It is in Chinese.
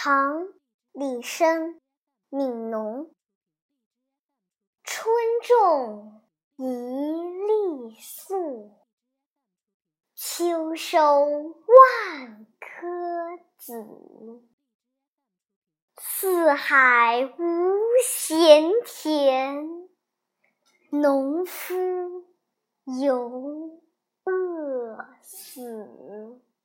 唐·李绅《悯农》春种一粒粟，秋收万颗子。四海无闲田，农夫犹饿死。